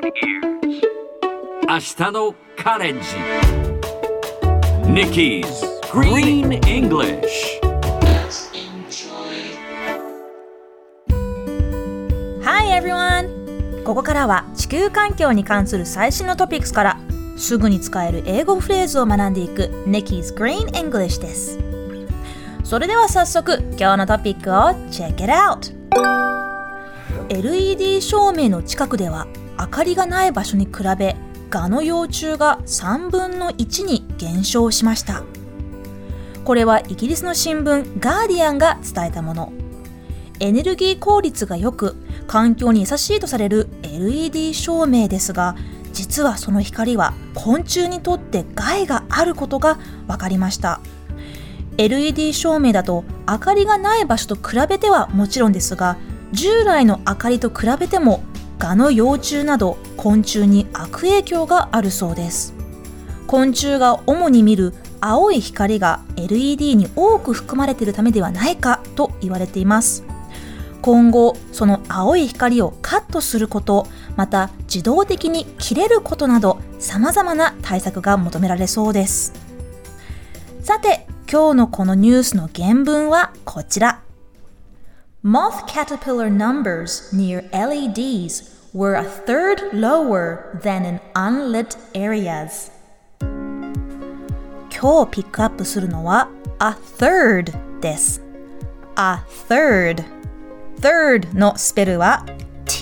明日のカレンジ Nikki's Green English。 Hi everyone! ここからは地球環境に関する最新のトピックスからすぐに使える英語フレーズを学んでいく Nikki's Green English です。それでは早速今日のトピックを Check it out! LED 照明の近くでは明かりがない場所に比べ蛾の幼虫が3分の1に減少しました。これはイギリスの新聞ガーディアンが伝えたもの。エネルギー効率が良く環境に優しいとされる LED 照明ですが、実はその光は昆虫にとって害があることが分かりました。 LED 照明だと明かりがない場所と比べてはもちろんですが、従来の明かりと比べても蛾の幼虫など昆虫に悪影響があるそうです。昆虫が主に見る青い光が LED に多く含まれているためではないかと言われています。今後その青い光をカットすること、また自動的に切れることなど様々な対策が求められそうです。さて今日のこのニュースの原文はこちら。Moth caterpillar numbers near LEDs were a third lower than in unlit areas. 今日ピックアップするのは a third です。a third のスペルは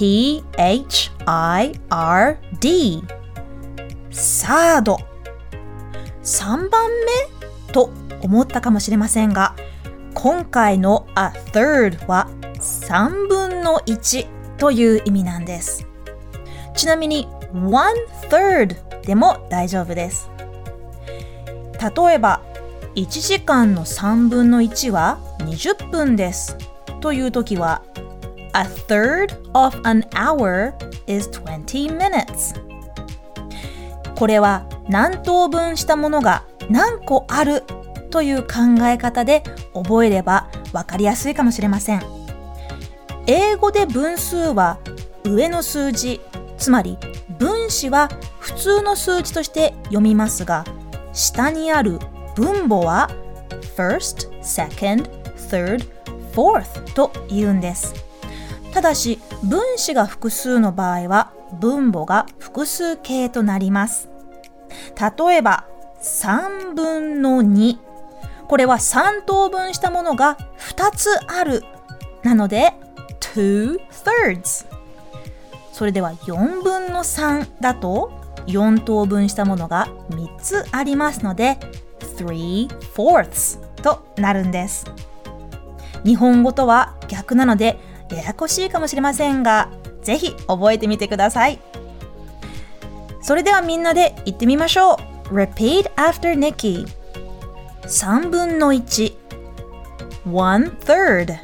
T-H-I-R-D。 サード、3番目と思ったかもしれませんが、今回の a third は3分の1という意味なんです。ちなみに one third でも大丈夫です。例えば1時間の3分の1は20分ですというときは a third of an hour is 20 minutes。 これは何等分したものが何個あるという考え方で覚えれば分かりやすいかもしれません。英語で分数は上の数字、つまり分子は普通の数字として読みますが、下にある分母は first, second, third, fourth と言うんです。ただし分子が複数の場合は分母が複数形となります。例えば3分の2、これは3等分したものが2つあるなので two thirds。 それでは4分の3だと4等分したものが3つありますので three fourths となるんです。日本語とは逆なのでややこしいかもしれませんが、ぜひ覚えてみてください。それではみんなで言ってみましょう。 Repeat after Nikki。 3分の1 one third、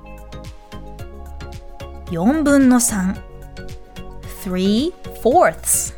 4分の3 three fourths。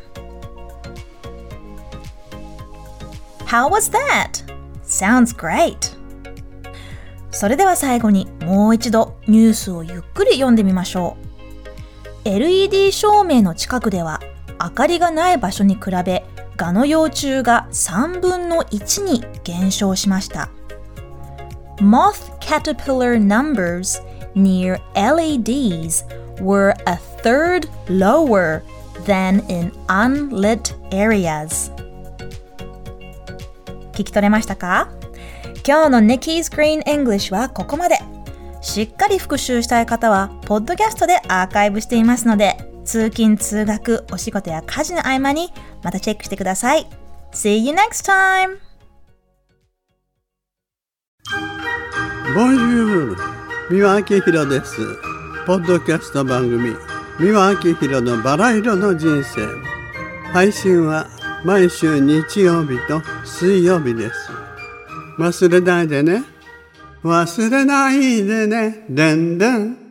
How was that? Sounds great! それでは最後にもう一度ニュースをゆっくり読んでみましょう。 LED 照明の近くでは明かりがない場所に比べ蛾の幼虫が3分の1に減少しました。 Moth caterpillar numbers near LEDs were a third lower than in unlit areas。 聞き取れましたか？今日の Nikki's Green English はここまで。しっかり復習したい方はポッドキャストでアーカイブしていますので、通勤通学お仕事や家事の合間にまたチェックしてください。 See you next time! Bonjour! 三輪明宏です。ポッドキャスト番組三輪明宏のバラ色の人生。配信は毎週日曜日と水曜日です。忘れないでね。忘れないでね。でんでん。